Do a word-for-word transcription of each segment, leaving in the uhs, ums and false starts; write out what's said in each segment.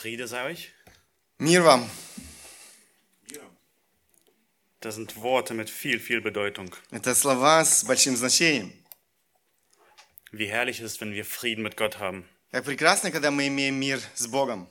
Friede sei euch. Мир вам. Das sind Worte mit viel, viel Bedeutung. Это слова с большим значением. Wie herrlich es ist, wenn wir Frieden mit Gott haben. Как прекрасно, когда мы имеем мир с Богом.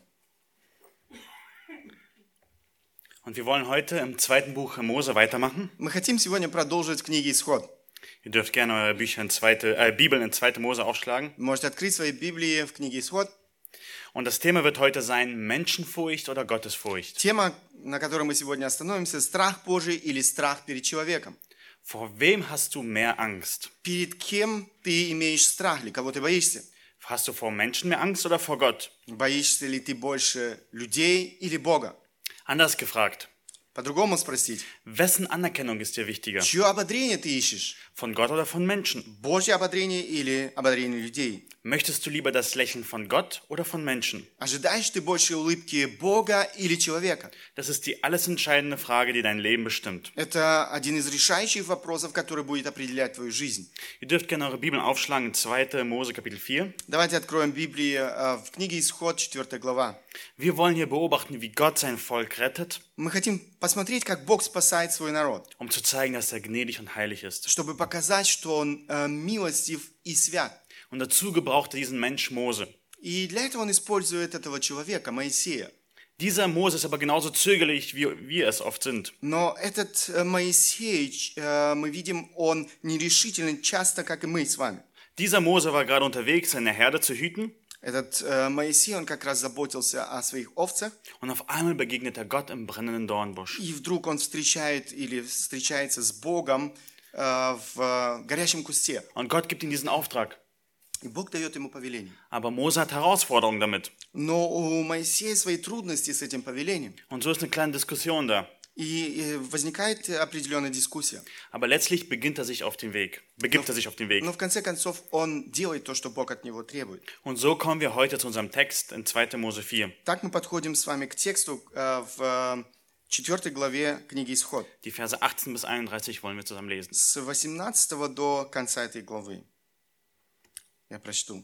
Und wir wollen heute im zweiten Buch Mose weitermachen. Мы хотим сегодня продолжить в книге Исход. Ihr dürft gerne eure Bücher in zweite, äh, Bibeln in zweite Mose aufschlagen. Вы можете открыть свои Библии в книге Исход. Und das Thema wird heute sein, Menschenfurcht oder Gottesfurcht. Тема, на которой мы сегодня остановимся, страх Божий или страх перед человеком. Vor wem hast du mehr Angst? Перед кем ты имеешь страх, или кого ты боишься? Hast du vor Menschen mehr Angst oder vor Gott? Боишься ли ты больше людей или Бога? Anders gefragt, По-другому спросить. wessen Anerkennung ist dir wichtiger? Чье ободрение ты ищешь? Von Gott oder von Menschen? Божье ободрение или ободрение людей? Möchtest du lieber das Lächeln von Gott oder von Menschen? Ожидаешь ты больше улыбки Бога или человека? Das ist die alles entscheidende Frage, die dein Leben bestimmt. Это один из решающих вопросов, который будет определять твою жизнь. Ihr dürft gerne eure Bibeln aufschlagen in zweite Mose Kapitel vier. Давайте откроем Библию э, в книге Исход, четвёртая глава. Wir wollen hier beobachten, wie Gott sein Volk rettet, Мы хотим посмотреть, как Бог спасает свой народ, um zu zeigen, dass er gnädig und heilig ist. чтобы показать, что Он э, милостив и свят. Und dazu gebrauchte diesen Mensch Mose. И для этого Он использует этого человека, Моисея. Dieser Mose ist aber genauso zögerlich, wie wir es oft sind. Но этот э, Моисей, э, мы видим, он нерешителен часто, как и мы с вами. Dieser Mose war gerade unterwegs, seine Herde zu hüten. Этот э, Моисей, он как раз заботился о своих овцах, Und auf einmal begegnet er Gott im brennenden Dornbusch. и вдруг он встречает или встречается с Богом э, в э, горящем кусте. Und Gott gibt ihm diesen Auftrag. И Бог дает ему повеление. Aber Mose hat Herausforderungen damit. Но у Моисея свои трудности с этим повелением. Und so ist eine kleine Diskussion da. И э, возникает определенная дискуссия. Aber letztlich beginnt er sich auf den Weg. Begibt er sich auf den Weg. Но в конце концов он делает то, что Бог от него требует. Und so kommen wir heute zu unserem Text in zweite Mose vier. Так мы подходим с вами к тексту э, в четвёртой главе книги Исход. Die Verse achtzehn bis einunddreißig wollen wir zusammen lesen. С восемнадцатого до конца этой главы. Я прочту.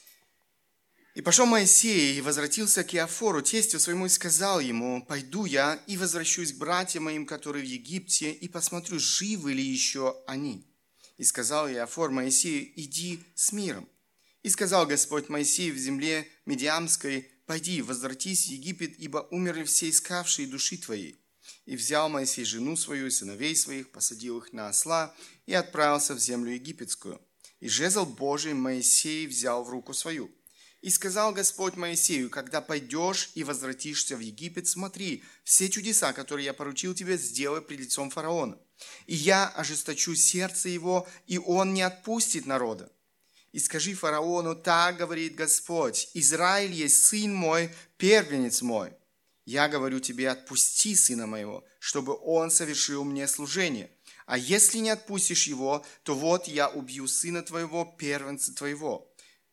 «И пошел Моисей, и возвратился к Иофору, тестю своему, и сказал ему, пойду я и возвращусь к братьям моим, которые в Египте, и посмотрю, живы ли еще они. И сказал Иофор Моисею, иди с миром. И сказал Господь Моисею в земле Медиамской, пойди, возвратись в Египет, ибо умерли все искавшие души твоей. И взял Моисей жену свою и сыновей своих, посадил их на осла и отправился в землю египетскую. И жезл Божий Моисей взял в руку свою. И сказал Господь Моисею, когда пойдешь и возвратишься в Египет, смотри, все чудеса, которые я поручил тебе, сделай пред лицом фараона. И я ожесточу сердце его, и он не отпустит народа. И скажи фараону, так говорит Господь, Израиль есть сын мой, первенец мой. Я говорю тебе, отпусти сына моего, чтобы он совершил мне служение. А если не отпустишь его, то вот я убью сына твоего, первенца твоего».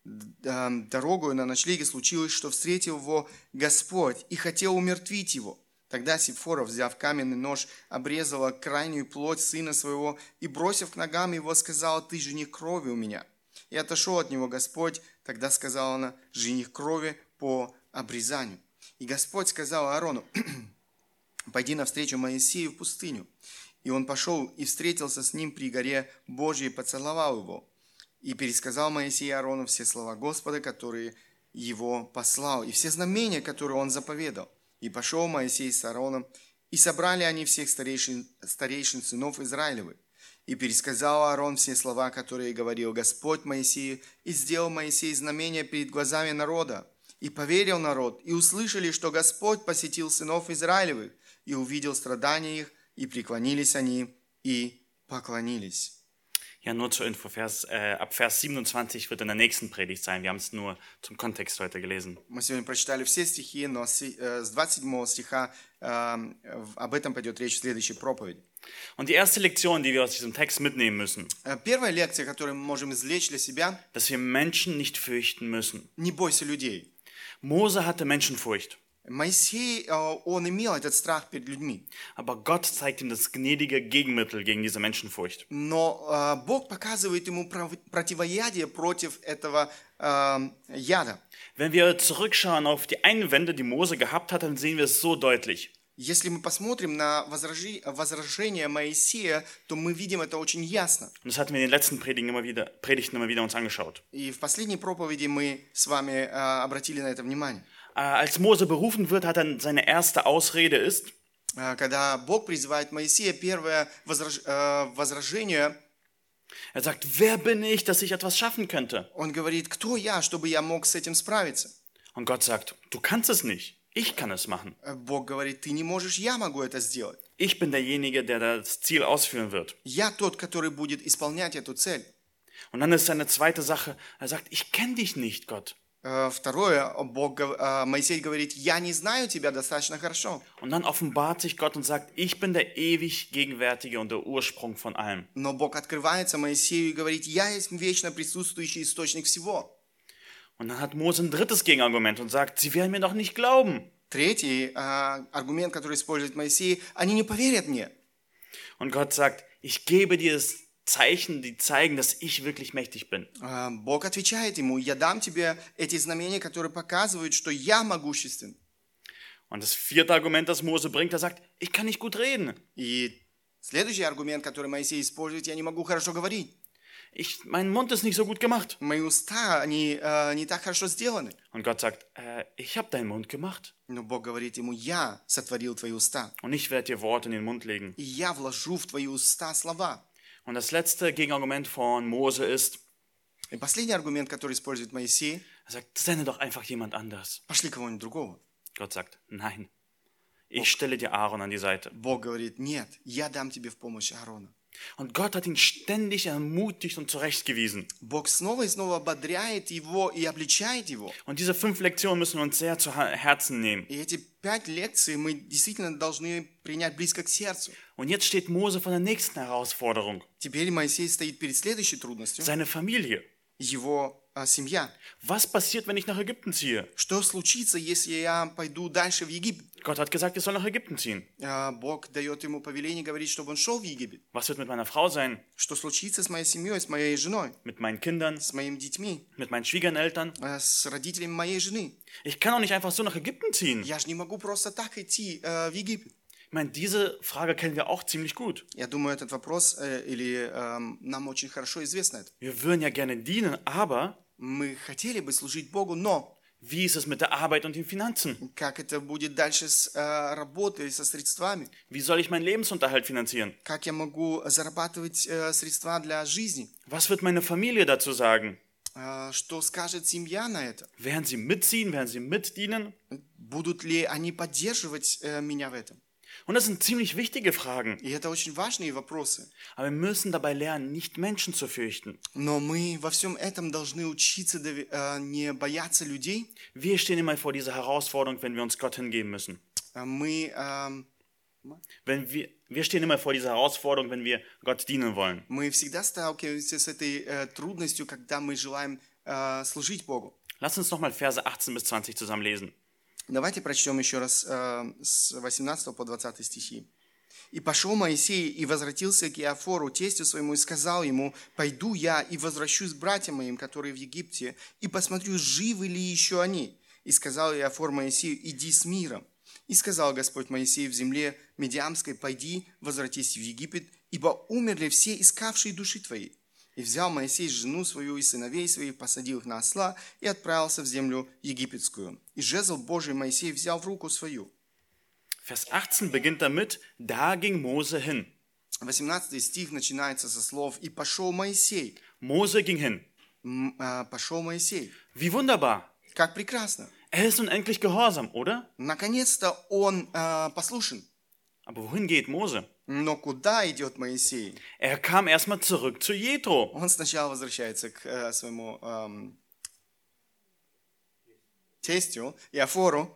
Дорогою на ночлеге случилось, что встретил его Господь и хотел умертвить его. Тогда Сипфора, взяв каменный нож, обрезала крайнюю плоть сына своего и, бросив к ногам его, сказала, «Ты жених крови у меня». И отошел от него Господь. Тогда сказала она, «Жених крови по обрезанию». И Господь сказал Аарону, «Пойди навстречу Моисею в пустыню». И он пошел и встретился с ним при горе Божьей и поцеловал его. И пересказал Моисей Аарону все слова Господа, которые его послал, и все знамения, которые он заповедал. И пошел Моисей с Аароном, и собрали они всех старейшин, старейшин сынов Израилевых. И пересказал Аарон все слова, которые говорил Господь Моисею, и сделал Моисей знамения перед глазами народа. И поверил народ, и услышали, что Господь посетил сынов Израилевых, и увидел страдания их, и преклонились они, и поклонились. Ja, nur zur Info, Vers, äh, ab Vers siebenundzwanzig wird in der nächsten Predigt sein. Wir haben es nur zum Kontext heute gelesen. Мы сегодня прочитали все стихи, но с двадцать седьмого стиха э, об этом пойдет речь в следующей проповеди. Und die erste Lektion, die wir aus diesem Text mitnehmen müssen, Первая лекция, которую мы можем извлечь для себя, dass wir Menschen nicht fürchten müssen. не бойся людей. Mose hatte Menschenfurcht. Моисей, э, он имел этот страх перед людьми. Aber Gott zeigt ihm das gnädige Gegenmittel gegen diese Menschenfurcht. Но э, Бог показывает ему пров- противоядие против этого э, яда. Wenn wir zurückschauen auf die Einwände, die Mose gehabt hat, dann sehen wir es so deutlich. Если мы посмотрим на возражи- возражение Моисея, то мы видим это очень ясно. Und das hatten wir in den letzten Predigten immer wieder, Predigten immer wieder uns angeschaut. И в последней проповеди мы с вами э, обратили на это внимание. Äh, als Mose berufen wird, hat er seine erste Ausrede ist, Э, Когда Бог призывает Моисея, первое возраж- э, возражение, er sagt, wer bin ich, dass ich etwas schaffen könnte? он говорит, кто я, чтобы я мог с этим справиться? Und Gott sagt, du kannst es nicht. Ich kann es machen. Э, Бог говорит, ты не можешь, я могу это сделать. Ich bin derjenige, der das Ziel ausführen wird. Я тот, который будет исполнять эту цель. Und dann ist seine zweite Sache, er sagt, ich kenne dich nicht, Gott. Э, Второе, Бог, гов- э, Моисей говорит, я не знаю тебя достаточно хорошо. Und dann offenbart sich Gott und sagt, ich bin der ewig Gegenwärtige und der Ursprung von allem. Но Бог открывается Моисею и говорит, я есть вечно присутствующий источник всего. Und dann hat Mose ein drittes Gegenargument und sagt, sie werden mir doch nicht glauben. Третий э, аргумент, который использует Моисей, они не поверят мне. Und Gott sagt, ich gebe dir das Zeichen, die zeigen, dass ich wirklich mächtig bin. Э, Бог отвечает ему, я дам тебе эти знамения, которые показывают, что я могуществен. Und das vierte Argument, das Mose bringt, er sagt, ich kann nicht gut reden. И следующий аргумент, который Моисей использует, я не могу хорошо говорить. Ich, mein Mund ist nicht so gut gemacht. Мои уста, они э, не так хорошо сделаны. Und Gott sagt, äh, ich habe deinen Mund gemacht. Но Бог говорит ему, я сотворил твои уста. Und ich werde dir Worte in den Mund legen. И я вложу в твои уста слова. Und das letzte Gegenargument von Mose ist, И последний аргумент, который использует Моисей, er sagt, sende doch einfach jemand anders. пошли кого-нибудь другого. Gott sagt, nein, ich stelle dir Aaron an die Seite. Бог говорит, нет, я дам тебе в помощь Аарона. Und Gott hat ihn ständig ermutigt und zurechtgewiesen. Бог снова и снова ободряет его и обличает его. Und diese fünf Lektionen müssen wir uns sehr zu Herzen nehmen. И эти пять лекций мы действительно должны принять близко к сердцу. Und jetzt steht Mose vor der nächsten Herausforderung. Теперь Моисей стоит перед следующей трудностью. Seine Familie. Его а, семья. Was passiert, wenn ich nach Ägypten ziehe? Что случится, если я пойду дальше в Египет? Gott hat gesagt, ich soll nach Ägypten ziehen. А, Бог дает ему повеление, говорит, чтобы он шел в Египет. Was wird mit meiner Frau sein? Что случится с моей семьей, с моей женой, Mit meinen Kindern? с моими детьми, Mit meinen Schwiegereltern? а, с родителями моей жены? Ich kann doch nicht einfach so nach Ägypten ziehen. Я же не могу просто так идти э, в Египет. Ich meine, diese Frage kennen wir auch ziemlich gut. Я думаю, этот вопрос, э, или э, нам очень хорошо известно это. Wir würden ja gerne dienen, aber Мы хотели бы служить Богу, но wie ist es mit der Arbeit und den Finanzen? как это будет дальше с э, работой, со средствами? Wie soll ich meinen Lebensunterhalt finanzieren? Как я могу зарабатывать э, средства для жизни? Was wird meine Familie dazu sagen? Э, что скажет семья на это? Werden sie mitziehen? Werden sie mitdienen? Будут ли они поддерживать э, меня в этом? Und das sind ziemlich wichtige Fragen. И это очень важные вопросы. Aber wir müssen dabei lernen, nicht Menschen zu fürchten. Но мы во всем этом должны учиться дови- э, не бояться людей. Wir stehen immer vor dieser Herausforderung, wenn wir uns Gott hingeben müssen. Э, Мы, эм, Wenn wir, wir stehen immer vor dieser Herausforderung, wenn wir Gott dienen wollen. мы всегда сталкиваемся с этой э, трудностью, когда мы желаем э, служить Богу. Lass uns nochmal Verse achtzehn bis zwanzig zusammen lesen. Давайте прочтем еще раз э, с восемнадцатого по двадцатый стихи. «И пошел Моисей и возвратился к Иофору, тестю своему, и сказал ему, пойду я и возвращусь к братьям моим, которые в Египте, и посмотрю, живы ли еще они. И сказал Иофор Моисею, иди с миром. И сказал Господь Моисею в земле Медиамской, пойди, возвратись в Египет, ибо умерли все искавшие души твоей. И взял Моисей жену свою и сыновей своих, посадил их на осла и отправился в землю египетскую. И жезл Божий Моисей взял в руку свою». Vers achtzehn beginnt damit, da ging Mose hin. восемнадцатый стих начинается со слов «И пошел Моисей». Mose ging hin. М, а, Пошел Моисей. Wie wunderbar. Как прекрасно. Er ist nun endlich gehorsam, oder? Наконец-то он а, послушен. Aber wohin geht Mose? Но куда идет Моисей? Er kam erstmal zurück zu Jethro. Он сначала возвращается к э, своему эм, тестю Иофору.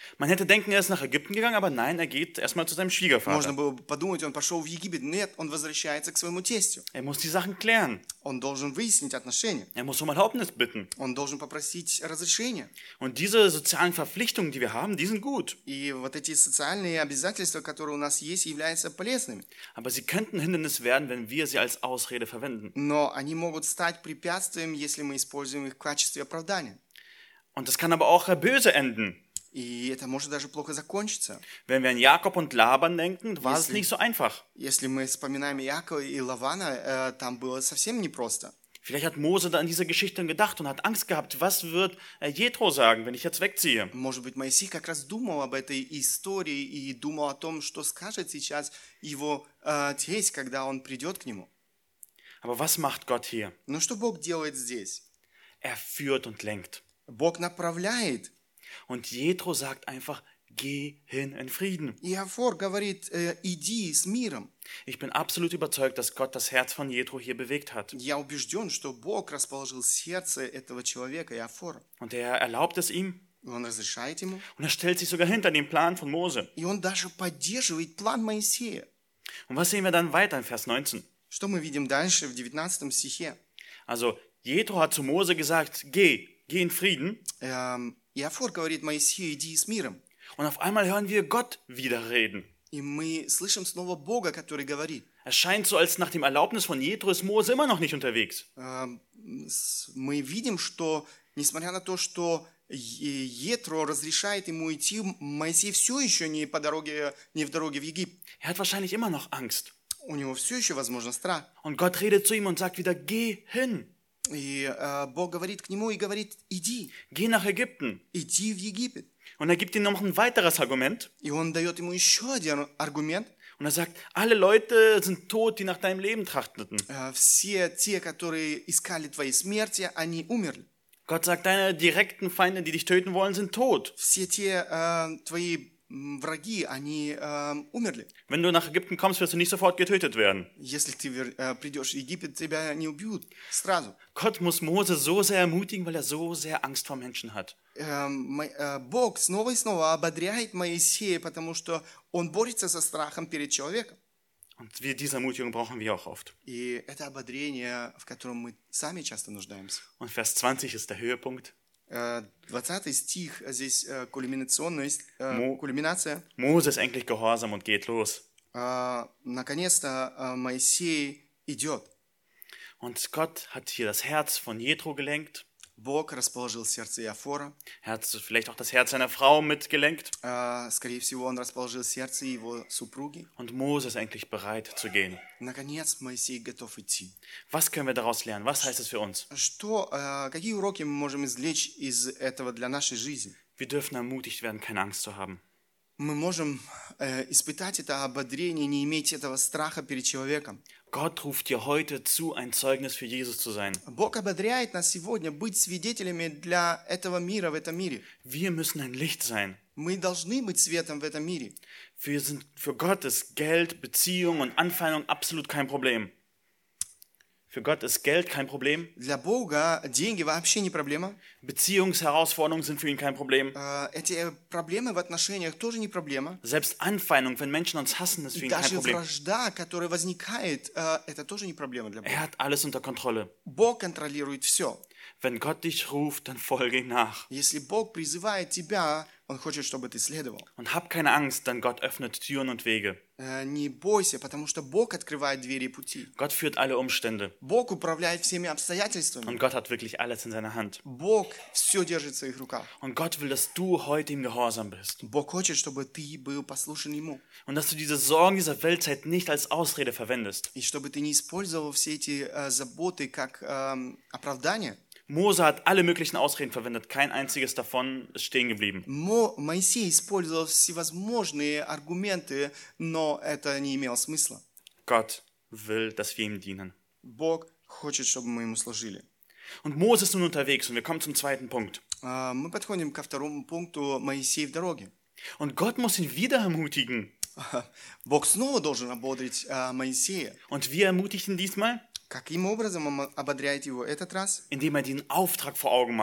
Man hätte denken, er ist nach Ägypten gegangen, aber nein, er geht erstmal zu seinem Можно Schwiegervater. было бы подумать, он пошел в Египет. Нет, он возвращается к своему тестю. Er muss die Sachen klären. Он должен выяснить отношения. Er muss um Erlaubnis bitten. Он должен попросить разрешения. Und diese sozialen Verpflichtungen, die wir haben, die sind gut. И вот эти социальные обязательства, которые у нас есть, являются полезными. Aber sie könnten Hindernis werden, wenn wir sie als Ausrede verwenden. Но они могут стать препятствием, если мы используем их в качестве оправдания. Und das kann aber auch böse enden. И это может даже плохо закончиться. Wenn wir an Jakob und Laban denken, war es Если- nicht so einfach. Если мы вспоминаем Иакова и Лавана, э, там было совсем непросто. Vielleicht hat Mose da an diese Geschichte gedacht und hat Angst gehabt, was wird äh, Jethro sagen, wenn ich jetzt wegziehe? Может быть, Моисей как раз думал об этой истории и думал о том, что скажет сейчас его э, тесть, когда он придет к нему. Aber was macht Gott hier? Но что Бог делает здесь? Er führt und lenkt. Бог направляет. Und Jethro sagt einfach, geh hin in Frieden. И Афор говорит, э, иди с миром. Ich bin absolut überzeugt, dass Gott das Herz von Jethro hier bewegt hat. Я убежден, что Бог расположил сердце этого человека, Иофора. Und er erlaubt es ihm И он разрешает ему. und er stellt sich sogar hinter den Plan von Mose. И он даже поддерживает план Моисея. Und was sehen wir dann weiter in Vers neunzehn? Что мы видим дальше в девятнадцатом стихе? Also Jethro hat zu Mose gesagt, geh, geh in Frieden. Эм, Иофор говорит Моисею, иди с миром. Und auf einmal hören wir Gott wieder reden. И мы слышим снова Бога, который говорит. Es scheint so, als nach dem Erlaubnis von Jethro ist Mose immer noch nicht unterwegs. Эм, с- Мы видим, что, несмотря на то, что Е- Етро разрешает ему идти, Моисей все еще не по дороге, не в дороге в Египет. Er hat wahrscheinlich immer noch Angst. У него все еще, возможно, страх. Und Gott redet zu ihm und sagt wieder, geh hin, И э, Бог говорит к нему и говорит, иди, geh nach Ägypten. иди в Египет. Und er gibt ihm noch ein weiteres Argument. И он дает ему еще один аргумент. Und er sagt, alle Leute sind tot, die nach deinem Leben trachteten. Э, Все те, которые искали твоей смерти, они умерли. Gott sagt, deine direkten Feinde, die dich töten wollen, sind tot. Все те э, твои м, враги, они э, умерли. Wenn du nach Ägypten kommst, wirst du nicht sofort getötet werden. Если ты вер- э, придешь в Египет, тебя не убьют сразу. Gott muss Mose so sehr ermutigen, weil er so sehr Angst vor Menschen hat. Э, Мо- э, Бог снова и снова ободряет Моисея, потому что он борется со страхом перед человеком. Und wir, diese Ermutigung brauchen wir auch oft. И это ободрение, в котором мы сами часто нуждаемся. Und Vers zwanzig ist der Höhepunkt. Э, двадцатый стих, здесь э, кульминационность, э, Мо- кульминация. Mose ist endlich gehorsam und geht los. Э, Наконец-то э, Моисей идет. Und Gott hat hier das Herz von Jethro gelenkt. Бог расположил сердце Иофора. Er hat vielleicht auch das Herz seiner Frau mitgelenkt. Э, Скорее всего, он расположил сердце его супруги. Und Mose ist endlich bereit zu gehen. Наконец, Моисей готов идти. Was können wir daraus lernen? Was heißt es für uns? Что, э, какие уроки мы можем извлечь из этого для нашей жизни? Wir dürfen ermutigt werden, keine Angst zu haben. Мы можем э, испытать это ободрение, не иметь этого страха перед человеком. Gott ruft dir heute zu, ein Zeugnis für Jesus zu sein. Бог ободряет нас сегодня быть свидетелями для этого мира, в этом мире. Wir müssen ein Licht sein. Мы должны быть светом в этом мире. Wir sind, für Gott ist Geld, Beziehung und Anfeindung absolut kein Problem. Für Gott ist Geld kein Problem. Для Бога деньги вообще не проблема. Beziehungsherausforderungen sind für ihn kein Problem. Э, Эти проблемы в отношениях тоже не проблема. Selbst Anfeindung, wenn Menschen uns hassen, ist für ihn kein Даже Problem. вражда, которая возникает, э, это тоже не проблема для Бога. Er hat alles unter Kontrolle. Бог контролирует все. Wenn Gott dich ruft, dann folge ihm nach. Если Бог призывает тебя, Он хочет, чтобы ты следовал. Und hab keine Angst, denn Gott öffnet Türen und Wege. Э, Не бойся, потому что Бог открывает двери и пути. Gott führt alle Umstände. Бог управляет всеми обстоятельствами. Und Gott hat wirklich alles in seiner Hand. Бог все держит в своих руках. Und Gott will, dass du heute ihm gehorsam bist. Бог хочет, чтобы ты был послушен Ему. Und dass du diese Sorgen dieser Weltzeit nicht als Ausrede verwendest. И чтобы ты не использовал все эти э, заботы как эм, оправдание. Mose hat alle möglichen Ausreden verwendet. Kein einziges davon ist stehen geblieben. Мо- Моисей использовал всевозможные аргументы, но это не имело смысла. Gott will, dass wir ihm dienen. Бог хочет, чтобы мы Ему служили. Und Mose ist nun unterwegs und wir kommen zum zweiten Punkt. А, Мы подходим ко второму пункту Моисей в дороге. Und Gott muss ihn wieder ermutigen. Бог снова должен ободрить а, Моисея. Und wie ermutigt ihn diesmal? Каким образом он ободряет его этот раз? Indem er den Auftrag vor Augen malt.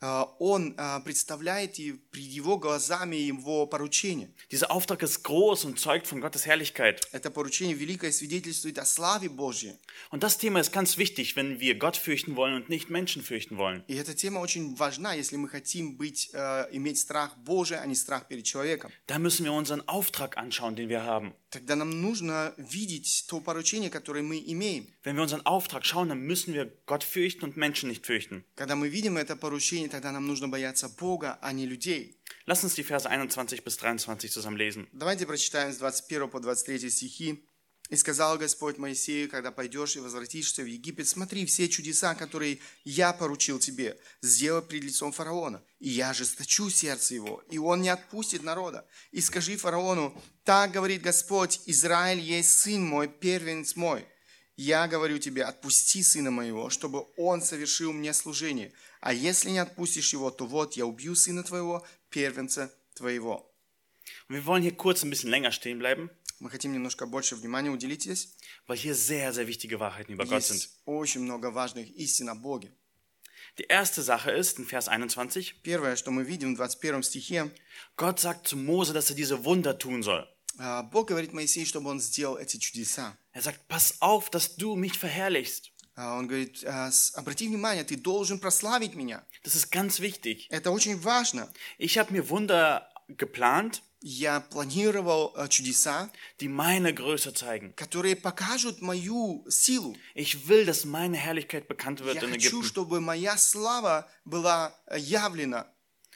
э, он э, представляет и перед его глазами его поручение. Dieser Auftrag ist groß und zeugt von Gottes Herrlichkeit. Это поручение великое свидетельствует о славе Божьей. Und das Thema ist ganz wichtig, wenn wir Gott fürchten wollen und nicht Menschen fürchten wollen. И эта тема очень важна, если мы хотим быть, äh, иметь страх Божий, а не страх перед человеком. Da müssen wir unseren Auftrag anschauen, den wir haben. Тогда нам нужно видеть то поручение, которое мы имеем. Wenn wir unseren Auftrag schauen, dann müssen wir Gott fürchten und Menschen nicht fürchten. Когда мы видим это поручение, тогда нам нужно бояться Бога, а не людей. Lass uns die Verse einundzwanzig bis dreiundzwanzig zusammen lesen. Давайте прочитаем с двадцать первого по двадцать третий стихи. «И сказал Господь Моисею, когда пойдешь и возвратишься в Египет, смотри, все чудеса, которые я поручил тебе, сделай пред лицом фараона, и я ожесточу сердце его, и он не отпустит народа. И скажи фараону, так говорит Господь, Израиль есть сын мой, первенец мой. Я говорю тебе, отпусти сына моего, чтобы он совершил мне служение. А если не отпустишь его, то вот я убью сына твоего, первенца твоего». Und wir wollen hier kurz ein bisschen länger stehen bleiben, Мы хотим немножко больше внимания уделить здесь. weil hier sehr, sehr wichtige Wahrheiten über Gott sind. Есть очень много важных истин о Боге. Die erste Sache ist, in Vers einundzwanzig, Первое, что мы видим в двадцать первом стихе, Gott sagt zu Mose, dass er diese Wunder tun soll. а, Бог говорит Моисею, чтобы он сделал эти чудеса. Er sagt, pass auf, dass du mich verherrlichst. А, Он говорит, а, с- обрати внимание, ты должен прославить меня. Das ist ganz wichtig. Это очень важно. Ich habe mir Wunder geplant, Я планировал а, чудеса, die meine Größe zeigen. которые покажут мою силу. Ich will, dass meine Herrlichkeit bekannt wird Я in хочу, Ägypten. чтобы моя слава была а, явлена.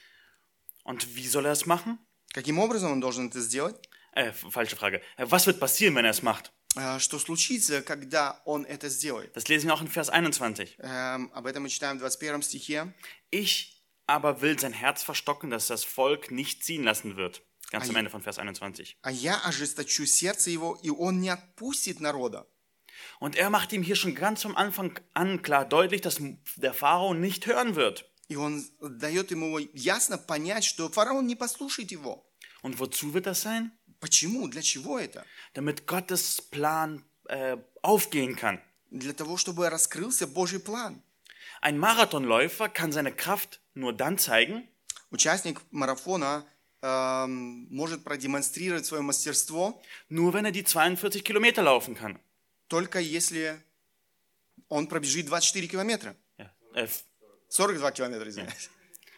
Und wie soll er es machen? Каким образом он должен это сделать? Äh, falsche Frage. Äh, Was wird passieren, wenn er es macht? А, Что случится, когда он это сделает? Das lesen wir auch in Vers einundzwanzig. Эм, Об этом мы читаем в двадцать первом стихе. Ich aber will sein Herz verstocken, dass das Volk nicht ziehen lassen wird. Ganz am Ah, Ende von Vers einundzwanzig. «А я ожесточу сердце его, и он не отпустит народа». Und er macht ihm hier schon ganz vom Anfang an klar deutlich, dass der Pharao nicht hören wird. И он дает ему ясно понять, что фараон не послушает его. Und wozu wird das sein? Почему? Для чего это? Damit Gottes Plan äh, aufgehen kann. Для того, чтобы раскрылся Божий план. Ein Marathonläufer kann seine Kraft nur dann zeigen, Участник марафона эм, может продемонстрировать свое мастерство, nur wenn er die zweiundvierzig Kilometer laufen kann. только если он пробежит двадцать четыре километра. Ja, äh, f- сорок два километра, извиняюсь.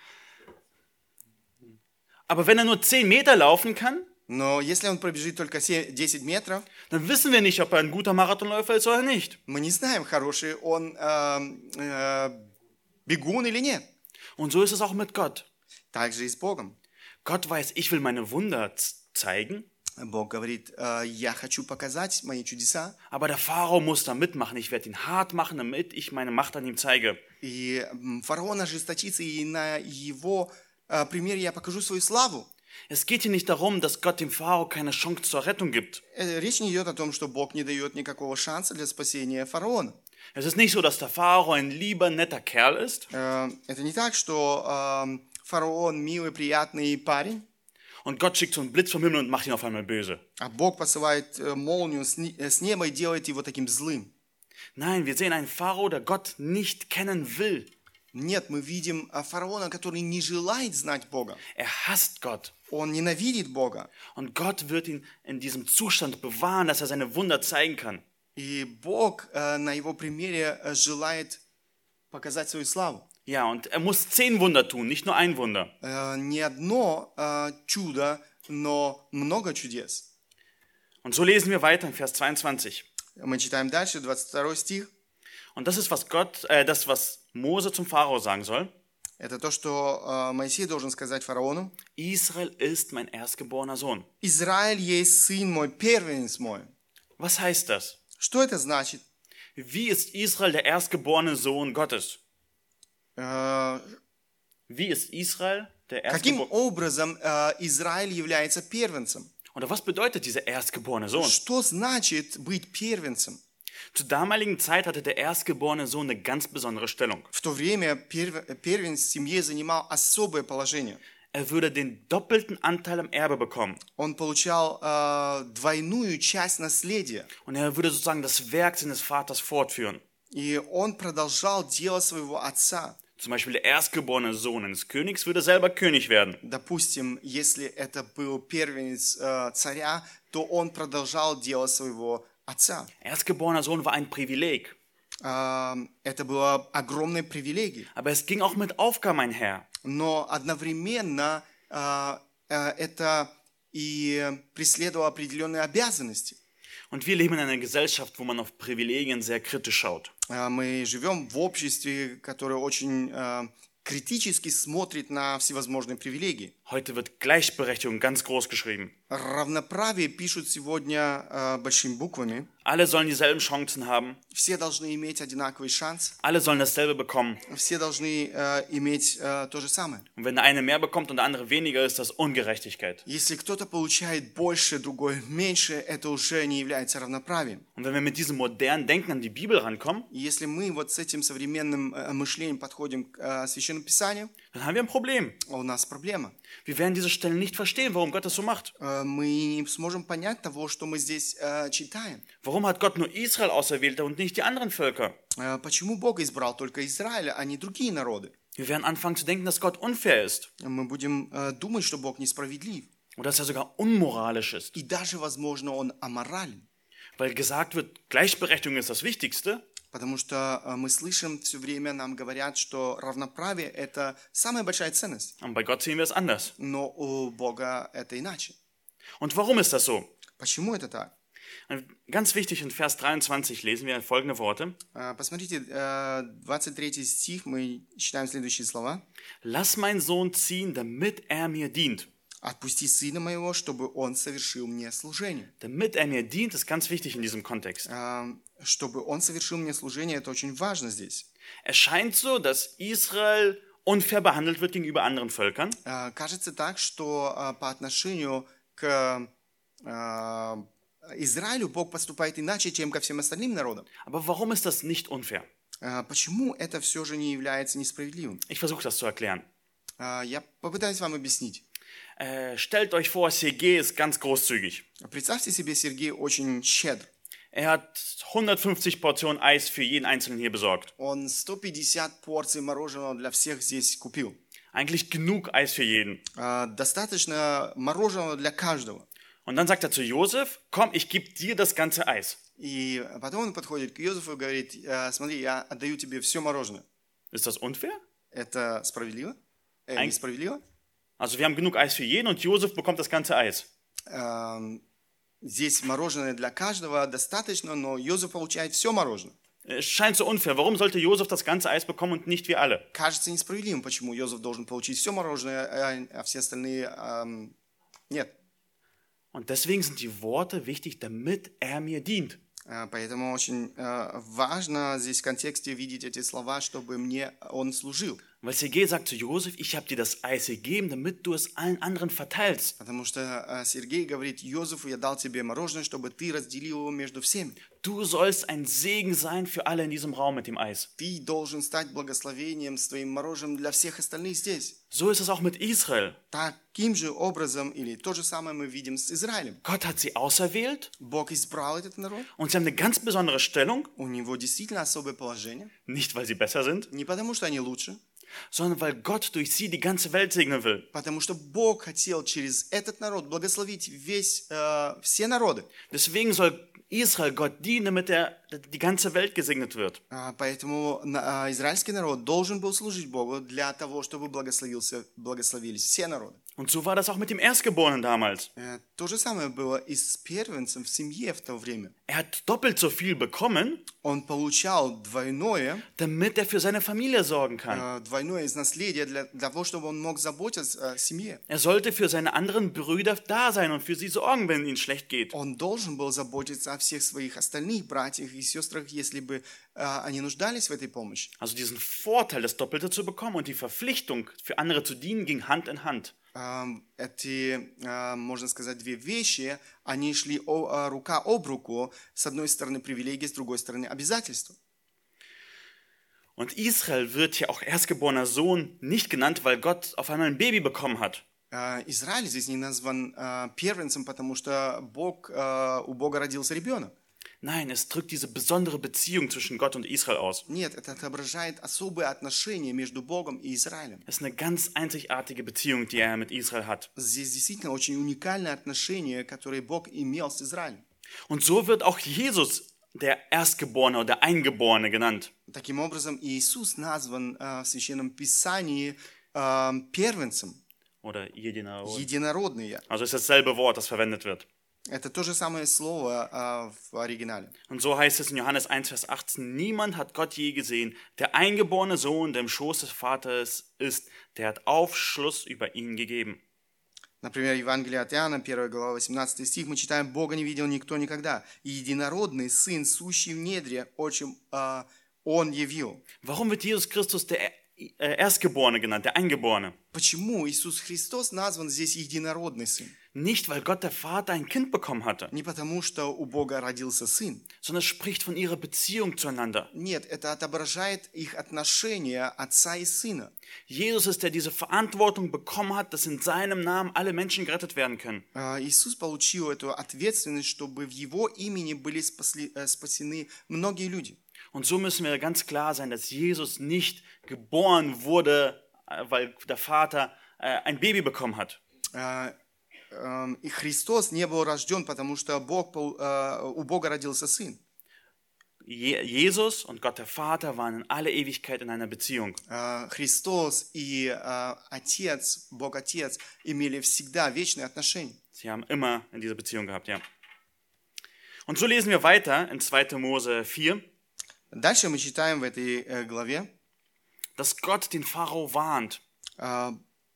aber wenn er nur zehn Meter laufen kann, Но если он пробежит только се- десять метров, dann wissen wir nicht, ob er ein guter Marathonläufer ist oder nicht. мы не знаем, хороший он эм, э, бегун или нет. Und so ist es auch mit Gott. Так же и с Богом. Gott weiß, ich will meine Wunder z- zeigen, Бог говорит, «Э, я хочу показать мои чудеса, aber der Pharao muss da mitmachen. Ich werde ihn hart machen, damit ich meine Macht an ihm zeige. и м, фараон ожесточится, и на его э, примере я покажу свою славу». Es geht hier nicht darum, dass Gott dem Pharao keine Chance zur Rettung gibt. Э, Речь не идет о том, что Бог не дает никакого шанса для спасения фараона. Es ist nicht so, dass der Pharao ein lieber, netter Kerl ist Э, Это не так, что эм, фараон милый, приятный парень, und Gott schickt so einen Blitz vom Himmel und macht ihn auf einmal böse. а Бог посылает э, молнию с ни- э, с неба и делает его таким злым. Nein, wir sehen einen Pharao, der Gott nicht kennen will. Нет, мы видим э, фараона, который не желает знать Бога. Er hasst Gott. Он ненавидит Бога. Und Gott wird ihn in diesem Zustand bewahren, dass er seine Wunder zeigen kann. И Бог э, на его примере э, желает показать свою славу. Ja, und er muss zehn Wunder tun, nicht nur ein Wunder. Э, Не одно э, чудо, но много чудес. Und so lesen wir weiter in Vers zweiundzwanzig. Мы читаем дальше, двадцать второй стих. Und das ist, was Gott, äh, das, was Mose zum Pharao sagen soll. Это то, что э, Моисей должен сказать фараону. Israel ist mein erstgeborener Sohn. «Израиль есть сын мой, первенец мой». Was heißt das? Что это значит? Wie ist Israel der erstgeborene Sohn Gottes? Э, Wie ist Israel der Каким erstgeborene? образом э, Израиль является первенцем? Oder was bedeutet dieser erstgeborene Sohn? Что значит быть первенцем? Zur damaligen Zeit hatte der erstgeborene Sohn eine ganz besondere Stellung. В то время перв- первенец в семье занимал особое положение. Er würde den doppelten Anteil am Erbe bekommen. Он получал э, двойную часть наследия. Und er würde sozusagen das Werk seines Vaters fortführen. И он продолжал дело своего отца. Zum Beispiel der erstgeborene Sohn eines Königs würde selber König werden. Допустим, если это был первенец э, царя, то он продолжал дело своего отца. Erstgeborener Sohn war ein Privileg. Э, это было огромной привилегией. Aber es ging auch mit Aufgaben einher. Но одновременно э, э, это и преследовало определенные обязанности. Und wir leben in einer Gesellschaft, wo man auf Privilegien sehr kritisch schaut. Э, Мы живем в обществе, которое очень э, критически смотрит на всевозможные привилегии. Heute wird Gleichberechtigung ganz groß geschrieben. Равноправие пишут сегодня э, большими буквами. Alle sollen dieselben Chancen haben. Все должны иметь одинаковый шанс. Alle sollen dasselbe bekommen. Все должны äh, иметь äh, то же самое. Und wenn der eine mehr bekommt und der andere weniger, ist das Ungerechtigkeit. Если кто-то получает больше, другой меньше, это уже не является равноправием. Und wenn wir mit diesem modernen Denken an die Bibel rankommen, И если мы вот с этим современным äh, мышлением подходим к äh, Священному Писанию, dann haben wir ein Problem. у нас проблема. Wir werden diese Stellen nicht verstehen, warum Gott das so macht. Äh, мы не сможем понять того, что мы здесь äh, читаем. Warum hat Gott nur Israel auserwählt und nicht die anderen Völker? Äh, почему Бог избрал только Израиля, а не другие народы? Wir werden anfangen zu denken, dass Gott unfair ist. Мы будем äh, думать, что Бог несправедлив. Oder dass er sogar unmoralisch ist. И даже, возможно, Он аморален. Weil gesagt wird, Gleichberechtigung ist das Wichtigste. Потому что э, мы слышим все время, нам говорят, что равноправие – это самая большая ценность. Und bei Gott sehen wir es anders. Но у Бога это иначе. Und warum ist das so? Почему это так? Ganz wichtig, in Vers dreiundzwanzig lesen wir folgende Worte. Э, Посмотрите, э, двадцать третий стих, мы читаем следующие слова. Lass meinen Sohn ziehen, damit er mir dient. «Отпусти сына моего, чтобы он совершил мне служение». Damit er mir dient, ist ganz wichtig in diesem Kontext. Э, Чтобы он совершил мне служение, это очень важно здесь. Es scheint so, dass Israel unfair behandelt wird gegenüber anderen Völkern. Э, Кажется так, что э, по отношению к э, Израилю Бог поступает иначе, чем ко всем остальным народам. Aber warum ist das nicht unfair? Э, Почему это все же не является несправедливым? Ich versuche das zu erklären. Э, Я попытаюсь вам объяснить. Äh, stellt euch vor, Sergei ist ganz großzügig. Представьте себе, Сергей очень щедр. Er hat hundertfünfzig Portionen Eis für jeden Einzelnen hier besorgt. Он сто пятьдесят порций мороженого для всех здесь купил. Eigentlich genug Eis für jeden. Э, Достаточно мороженого для каждого. Und dann sagt er zu Josef, komm, ich gebe dir das ganze Eis. И потом он подходит к Йозефу и говорит: «Э, смотри, я отдаю тебе все мороженое». Ist das unfair? Это справедливо? Э, Ein- несправедливо? Also wir haben genug Eis für jeden und Josef bekommt das ganze Eis. Эм, Здесь мороженое для каждого достаточно, но Йозеф получает все мороженое. Es scheint so unfair. Warum sollte Josef das ganze Eis bekommen und nicht wir alle? Кажется несправедливым, почему Йозеф должен получить все мороженое, а а все остальные эм, нет. Und deswegen sind die Worte wichtig, damit er mir dient. Э, Поэтому очень э, важно здесь в контексте видеть эти слова, чтобы мне он служил. Weil Sergei sagt zu Josef, ich habe dir das Eis gegeben, damit du es allen anderen verteilst. Потому что э, Сергей говорит Йозефу: я дал тебе мороженое, чтобы ты разделил его между всеми. Du sollst ein Segen sein für alle in diesem Raum mit dem Eis. Ты должен стать благословением с твоим мороженым для всех остальных здесь. So ist es auch mit Israel. Таким же образом, или то же самое мы видим с Израилем. Gott hat sie auserwählt Бог избрал этот народ. und sie haben eine ganz besondere Stellung, У него действительно особое положение. nicht weil sie besser sind, Не потому, что они лучше, sondern weil Gott durch sie die ganze Welt segnen will. потому что Бог хотел через этот народ благословить весь, э, все народы. Deswegen soll Israel Gott dienen, damit er, die ganze Welt gesegnet wird. А, Поэтому на- а, израильский народ должен был служить Богу для того, чтобы благословился, благословились все народы. Und so war das auch mit dem Erstgeborenen damals. Э, То же самое было и с первенцем в семье в то время. Er hat doppelt so viel bekommen, Он получал двойное, damit er für seine Familie sorgen kann. э, двойное из наследия для, для того, чтобы он мог заботиться о семье. Er sollte für seine anderen Brüder da sein und für sie sorgen, wenn es ihnen schlecht geht. Он должен был заботиться о всех своих остальных братьях и сестрах, если бы э, они нуждались в этой помощи. Also diesen Vorteil, das Doppelte zu bekommen und die Verpflichtung, für andere zu dienen, ging Hand in Hand. Эм, Эти, э, можно сказать, две вещи, они шли о- э, рука об руку. С одной стороны привилегии, с другой стороны обязательства. Und Israel wird hier auch erstgeborener Sohn nicht genannt, weil Gott auf einmal ein Baby bekommen hat. Э, Израиль здесь не назван э, первенцем, потому что Бог, э, у Бога родился ребенок. Nein, es drückt diese besondere Beziehung zwischen Gott und Israel aus. Нет, это отображает особые отношения между Богом и Израилем. Es ist eine ganz einzigartige Beziehung, die er mit Israel hat. Здесь действительно очень уникальные отношения, которые Бог имел с Израилем. Und so wird auch Jesus der Erstgeborene oder der Eingeborene genannt. Таким образом, Иисус назван э, в Священном Писании э, первенцем, Oder Jedinarod. единородный. Also ist dasselbe Wort, das verwendet wird. Это то же самое слово э, в оригинале. Und so heißt es in Johannes eins, Vers achtzehn, niemand hat Gott je gesehen. Der eingeborene Sohn, der im Schoß des Vaters ist, der hat Aufschluss über ihn gegeben. Например, Евангелие от Иоанна, первая глава, восемнадцатый стих, мы читаем: «Бога не видел никто никогда, и единородный Сын, сущий в недре, отчим э, Он явил». Warum wird Jesus Christus der Erstgeborene genannt, der Eingeborene? Почему Иисус Христос назван здесь единородный Сын? Nicht, weil Gott der Vater ein Kind bekommen hatte, Не потому, что у Бога родился Сын. sondern es spricht von ihrer Beziehung zueinander. Нет, это отображает их отношения Отца и Сына. Jesus ist, der diese Verantwortung bekommen hat, dass in seinem Namen alle Menschen gerettet werden können. А, Иисус получил эту ответственность, чтобы в Его имени были спасли- э, спасены многие люди. Und so müssen wir ganz klar sein, dass Jesus nicht geboren wurde, äh, weil der Vater äh, ein Baby bekommen hat. А, эм, И Христос не был рожден, потому что Бог, пол- э, у Бога родился Сын. Je Jesus und Gott der Vater waren in alle Ewigkeit in einer Beziehung. А, Христос и э, Отец, Бог Отец, имели всегда вечные отношения. Sie haben immer in dieser Beziehung gehabt, ja. Und so lesen wir weiter in zweiter Mose vier, Дальше мы читаем в этой э, главе, dass Gott den Pharao warnt. э,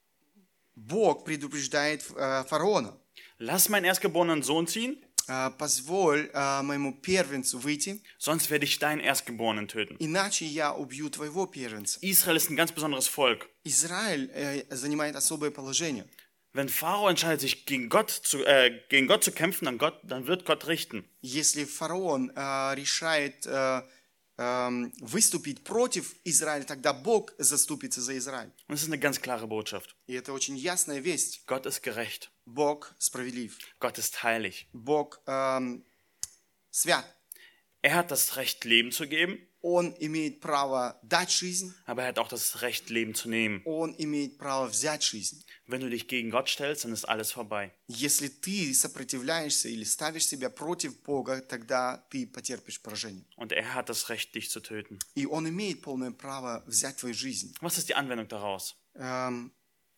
Бог предупреждает э, фараона: Lass meinen erstgeborenen Sohn ziehen, «Э, позволь э, моему первенцу выйти, sonst werde ich deinen Erstgeborenen töten. иначе я убью твоего первенца». Israel ist ein ganz besonderes Volk. Израиль э, занимает особое положение. Wenn Pharao entscheidet, sich gegen Gott zu, äh, gegen Gott zu kämpfen, dann, Gott, dann wird Gott richten. Если фараон э, решает э, э, выступить против Израиля, тогда Бог заступится за Израиль. Und es ist eine ganz klare Botschaft. И это очень ясная весть. Gott ist gerecht. Бог справедлив. Gott ist heilig. Бог эм, свят. Er hat das Recht, Leben zu geben, Он имеет право дать жизнь, aber er hat auch das Recht, Leben zu nehmen. Он имеет право взять жизнь. Wenn du dich gegen Gott stellst, dann ist alles vorbei. Если ты сопротивляешься или ставишь себя против Бога, тогда ты потерпишь поражение. Und er hat das Recht, dich zu töten. И Он имеет полное право взять твою жизнь. Was ist die Anwendung daraus? Эм,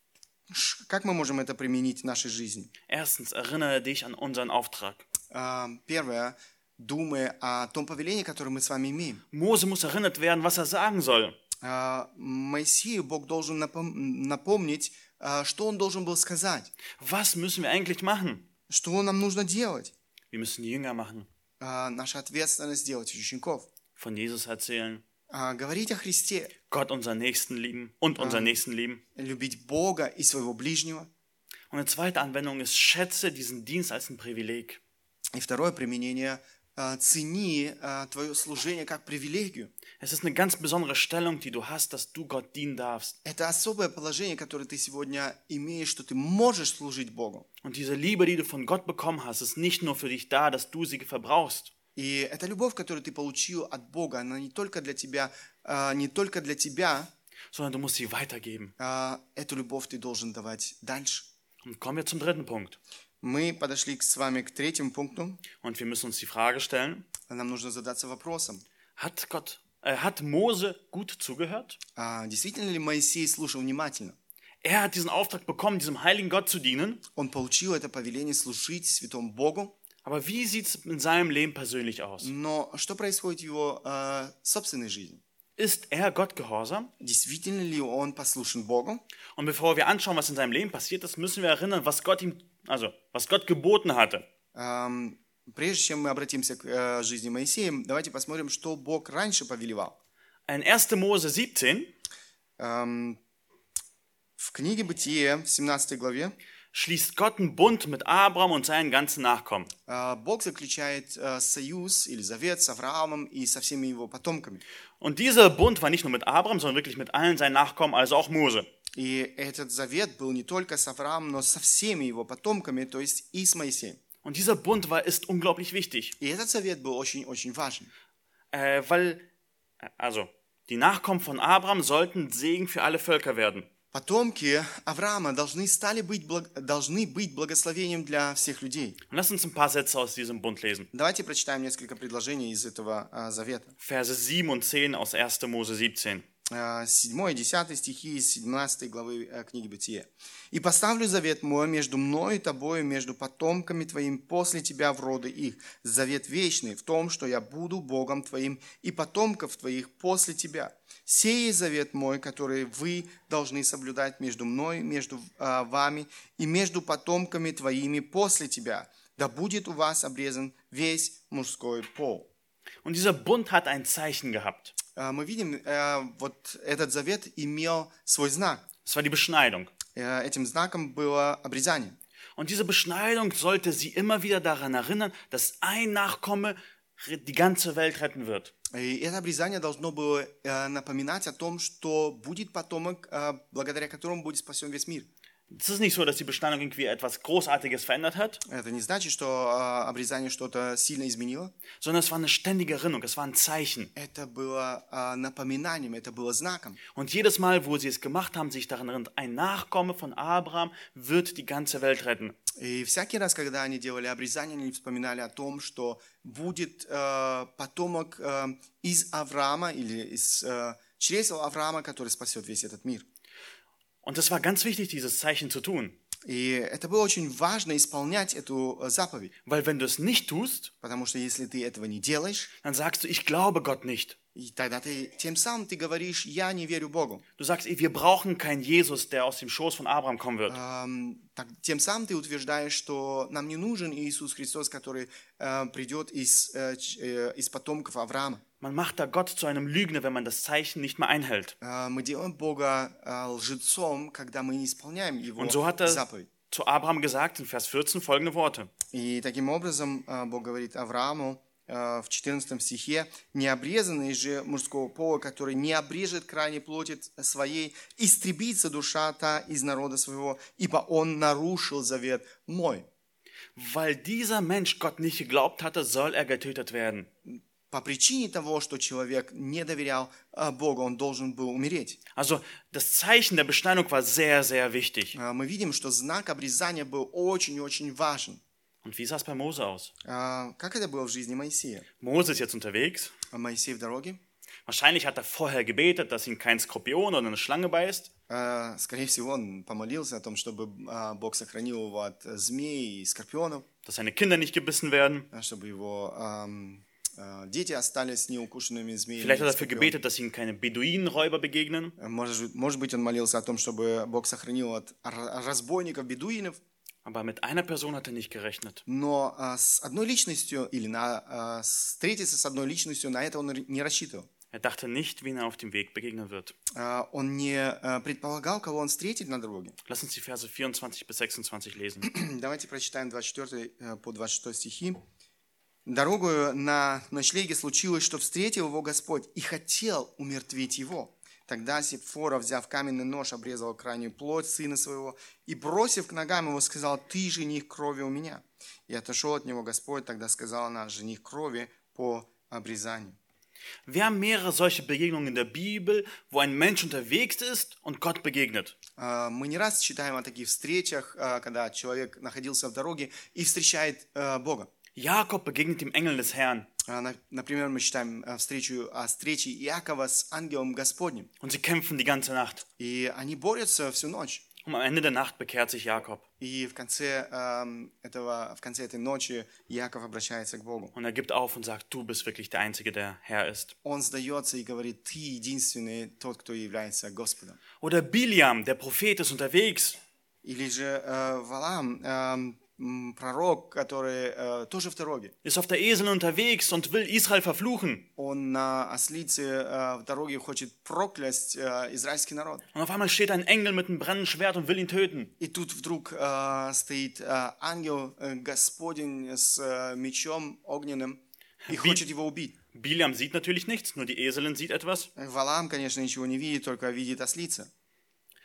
ш- Как мы можем это применить в нашей жизни? Erstens, erinnere dich an unseren Auftrag. Эм, Первое, думай о том повелении, которое мы с вами имеем. Mose muss erinnert werden, was er sagen soll. Э, Моисею Бог должен напом- напомнить, э, что он должен был сказать, Was müssen wir eigentlich machen? что нам нужно делать. Wir müssen Jünger machen, Э, Наша ответственность делать учеников. von Jesus erzählen, Э, Говорить о Христе, Gott unseren Nächsten lieben und unseren Nächsten lieben. любить Бога и своего ближнего. Und eine zweite Anwendung ist, schätze diesen Dienst als ein Privileg. И второе применение э, – цени э, твое служение как привилегию. Es ist eine ganz besondere Stellung, die du hast, dass du Gott dienen darfst. Это особое положение, которое ты сегодня имеешь, что ты можешь служить Богу. Und diese Liebe, die du von Gott bekommen hast, ist nicht nur für dich da, dass du sie verbrauchst, И эта любовь, которую ты получил от Бога, она не только для тебя, э, не только для тебя, sondern du musst sie weitergeben. э, эту любовь ты должен давать дальше. Und kommen wir zum dritten Punkt. Мы подошли к- с вами к третьему пункту. Und wir müssen uns die Frage stellen, Нам нужно задаться вопросом, hat Gott, äh, hat Mose gut zugehört? а действительно ли Моисей слушал внимательно? Er hat diesen Auftrag bekommen, diesem heiligen Gott zu dienen. Он получил это повеление служить святому Богу, Aber wie sieht es in seinem Leben persönlich aus? но что происходит в его э, собственной жизни? Ist er Gott gehorsam? Действительно ли он послушен Богу? Und bevor wir anschauen, was in seinem Leben passiert ist, müssen wir erinnern, was Gott ihm, also was Gott geboten hatte. Эм, Прежде чем мы обратимся к э, жизни Моисея, давайте посмотрим, что Бог раньше повелевал. In erster Mose siebzehn Эм, В книге Бытие, в семнадцатой главе, schließt Gott einen Bund mit Abraham und seinen ganzen Nachkommen. э, Бог заключает э, союз или завет с Авраамом и со всеми его потомками. Und dieser Bund war nicht nur mit Abraham, sondern wirklich mit allen seinen Nachkommen, also auch Mose. И этот завет был не только с Авраамом, но со всеми его потомками, то есть и с Моисеем. Und dieser Bund war, ist unglaublich wichtig, И этот завет был очень-очень важен. äh, weil, also, die Nachkommen von Abraham sollten Segen für alle Völker werden. Потомки Авраама должны, стали быть, благ- должны быть благословением для всех людей. Und lass uns ein paar Sätze aus diesem Bund lesen. Давайте прочитаем несколько предложений из этого а, завета. Verse sieben und zehn aus erster Mose siebzehn. седьмой и десятый стихи из семнадцатой главы э, книги Бытия. «И поставлю завет мой между мною и тобою, между потомками твоим после тебя в роды их. Завет вечный в том, что я буду Богом твоим и потомков твоих после тебя. Сей есть завет мой, который вы должны соблюдать между мной, между э, вами и между потомками твоими после тебя. Да будет у вас обрезан весь мужской пол». Und dieser Bund hat ein Zeichen gehabt. Э, Мы видим, э, вот этот завет имел свой знак. Das war die Beschneidung. Э, Этим знаком было обрезание. Und diese Beschneidung sollte sie immer wieder daran erinnern, dass ein Nachkomme die ganze Welt retten wird. И это обрезание должно было э, напоминать о том, что будет потомок, э, благодаря которому будет спасен весь мир. Es ist nicht so, dass die Beschneidung irgendwie etwas Großartiges verändert hat, Это не значит, что э, обрезание что-то сильно изменило. sondern es war eine ständige Erinnerung, es war ein Zeichen. Это было э, напоминанием, это было знаком. Und jedes Mal, wo sie es gemacht haben, sich daran erinnert, ein Nachkomme von Abraham wird die ganze Welt retten. И всякий раз, когда они делали обрезание, они вспоминали о том, что будет э, потомок э, из Авраама или из э, чресел Авраама, который спасет весь этот мир. Und es war ganz wichtig, dieses Zeichen zu tun. И это было очень важно исполнять эту э, заповедь, Weil wenn du es nicht tust, потому что если ты этого не делаешь, dann sagst du, ich glaube Gott nicht. и тогда ты тем самым ты говоришь, я не верю Богу. Du sagst, ey, wir brauchen keinen Jesus, der aus dem Schoß von Abraham kommen wird. Эм, так, тем самым ты утверждаешь, что нам не нужен Иисус Христос, который э, придет из, э, ч- э, из потомков Авраама. Man macht da Gott zu einem Lügner, wenn man das Zeichen nicht mehr einhält. Э, мы делаем Бога э, лжецом, когда мы не исполняем Его Und so hat er заповедь. zu Abraham gesagt in Vers vierzehn folgende Worte. И таким образом э, Бог говорит Аврааму э, в четырнадцатом стихе: «Необрезанный же мужского пола, который не обрежет крайней плоти своей, истребится душа та из народа своего, ибо он нарушил завет мой». Weil dieser Mensch Gott nicht geglaubt hatte, soll er getötet werden. По причине того, что человек не доверял э, Богу, он должен был умереть. Also das Zeichen der Beschneidung war sehr, sehr wichtig. Э, Мы видим, что знак обрезания был очень-очень важен. Und wie sah es bei Mose aus? Э, Как это было в жизни Моисея? Mose ist jetzt unterwegs. А Моисей в дороге. Wahrscheinlich hat er vorher gebetet, dass ihn kein Skorpion oder eine Schlange beißt. Э, Скорее всего, он помолился о том, чтобы э, Бог сохранил его от э, змей и скорпионов, Dass seine Kinder nicht gebissen werden. э, чтобы его эм, э, дети остались неукушенными змеями. Vielleicht hat и er dafür скорпионами. gebetet, dass ihm keine Beduinenräuber begegnen. Э, Может, может быть, он молился о том, чтобы Бог сохранил от р- разбойников, бедуинов. Aber mit einer Person hat er nicht gerechnet. Но э, с одной личностью или на, э, встретиться с одной личностью, на это он р- не рассчитывал. Er dachte nicht, wen er auf dem Weg begegnen wird. Э, Он не э, предполагал, кого он встретит на дороге. Lass uns die Verse vierundzwanzig bis sechsundzwanzig lesen. Давайте прочитаем двадцать четвёртый э, по двадцать шестой стихи. «Дорогою на ночлеге случилось, что встретил его Господь и хотел умертвить его. Тогда Сепфора, взяв каменный нож, обрезал крайнюю плоть сына своего и, бросив к ногам его, сказал: «Ты жених крови у меня». И отошел от него Господь, тогда сказал она: «Жених крови по обрезанию». Wir haben mehrere solche Begegnungen in der Bibel, wo ein Mensch unterwegs ist und Gott begegnet. Э, Мы не раз читаем о таких встречах, э, когда человек находился в дороге и встречает э, Бога. Jakob begegnet dem Engel des Herrn Э, на- Например, мы читаем э, встречу о встрече Иакова с ангелом Господним. und sie kämpfen die ganze Nacht. И они борются всю ночь. Und am Ende der Nacht bekehrt sich Jakob. И в конце, эм, этого, в конце этой ночи Иаков обращается к Богу. Und er gibt auf und sagt, du bist wirklich der Einzige, der Herr ist. Он сдается и говорит: «Ты единственный тот, кто является Господом». Oder Biliam, der Prophet, ist unterwegs. Или же э, Валаам, эм, м, пророк, который э, тоже в дороге. Ist auf der Esel unterwegs und will Israel verfluchen. Он на ослице э, в дороге хочет проклясть э, израильский народ. Und auf einmal steht ein Engel mit einem brennenden Schwert und will ihn töten. И тут вдруг э, стоит э, ангел э, Господень с э, мечом огненным и Би- хочет его убить. Biliam sieht natürlich nichts, nur die Eselin sieht etwas. Валаам, конечно, ничего не видит, только видит ослица.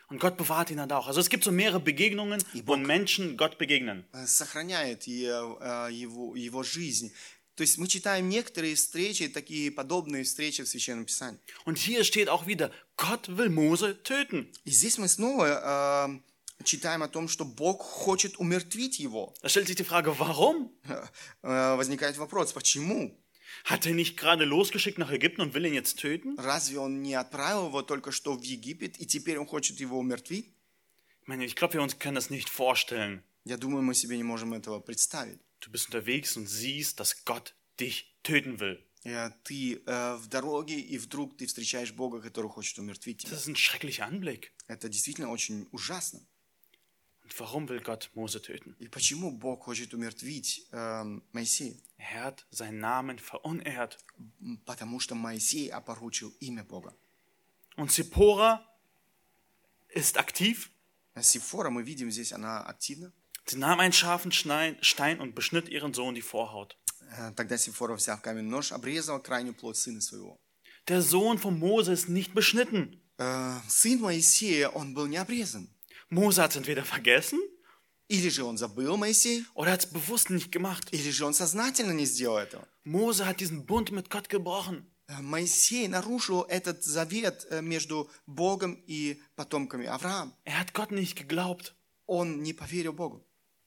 Und Gott bewahrt ihn dann auch. Also es gibt so mehrere Begegnungen, wo Menschen Gott begegnen. э, сохраняет и, э, его, его жизнь. То есть мы читаем некоторые встречи, такие подобные встречи в Священном Писании. Und hier steht auch wieder, Gott will Mose töten. И здесь мы снова э, читаем о том, что Бог хочет умертвить его. Da stellt sich die Frage, warum? Э, возникает вопрос, почему? Hat er nicht gerade losgeschickt nach Ägypten und will ihn jetzt töten? Разве он не отправил его только что в Египет, и теперь он хочет его умертвить? Ich meine, ich glaube, wir uns können das nicht vorstellen. Я думаю, мы себе не можем этого представить. Du bist unterwegs und siehst, dass Gott dich töten will. Э, Ты э, в дороге, и вдруг ты встречаешь Бога, который хочет умертвить тебя. Das ist ein schrecklicher Anblick. Это действительно очень ужасно. Und warum will Gott Mose töten? И почему Бог хочет умертвить э, Моисея? Er hat seinen Namen verunehrt. М, Потому что Моисей опорочил имя Бога. Und Zippora ist aktiv. А Сифора, мы видим здесь, она активна. Sie nahm einen scharfen Schnein- Stein und beschnitt ihren Sohn die Vorhaut. Э, Тогда Сифора, взяв каменный нож, обрезала крайнюю плоть сына своего. Der Sohn von Mose ist nicht beschnitten. Э, Сын Моисея, он был не обрезан. Mose hat es entweder vergessen Или же он забыл Моисей, oder hat es bewusst nicht gemacht. или же он сознательно не сделал этого. Mose hat diesen Bund mit Gott gebrochen. Э, Моисей нарушил этот завет э, между Богом и потомками Авраама. Er hat Gott nicht geglaubt. Он не поверил Богу.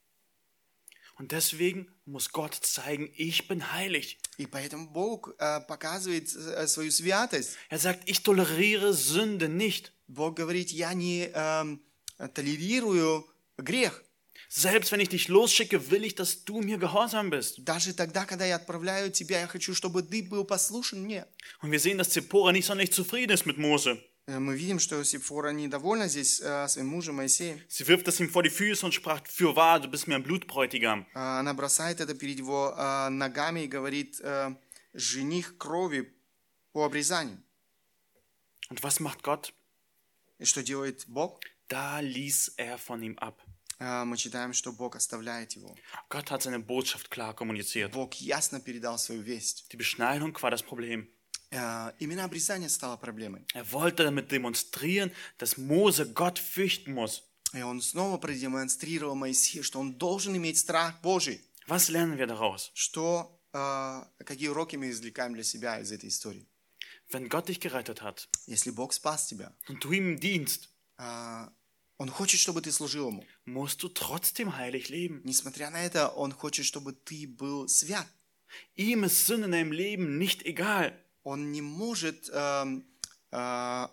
Und deswegen muss Gott zeigen, ich bin heilig. И поэтому Бог э, показывает э, свою святость. Er sagt, ich toleriere Sünde nicht. Бог говорит, я не эм, толерирую грех. Selbst wenn ich dich losschicke, will ich, dass du mir gehorsam bist. Даже тогда, когда я отправляю тебя, я хочу, чтобы ты был послушен мне. Und wir sehen, dass Zippora nicht sonderlich zufrieden ist mit Mose. Э, Мы видим, что Сифора недовольна здесь э, своим мужем Моисеем. Sie wirft es ihm vor die Füße und sprach, fürwahr, du bist mir ein Blutbräutigam. Э, Она бросает это перед его э, ногами и говорит, э, жених крови по обрезанию. Und was macht Gott? И что делает Бог? Da ließ er von ihm ab. Э, Мы читаем, что Бог оставляет его. Gott hat seine Botschaft klar kommuniziert. Бог ясно передал свою весть. Die Beschneidung war das Problem. Э, Именно обрезание стало проблемой. Er wollte damit demonstrieren, dass Mose Gott fürchten muss. И он снова продемонстрировал Моисею, что он должен иметь страх Божий. Was lernen wir daraus? Что, э, какие уроки мы извлекаем для себя из этой истории? Wenn Gott dich gerettet hat Если Бог спас тебя, und du ihm dienst, э, Он хочет, чтобы ты служил Ему. musst du trotzdem heilig leben. Несмотря на это, Он хочет, чтобы ты был свят. Ihm ist Sünde in deinem Leben nicht egal. Он не может... эм, э,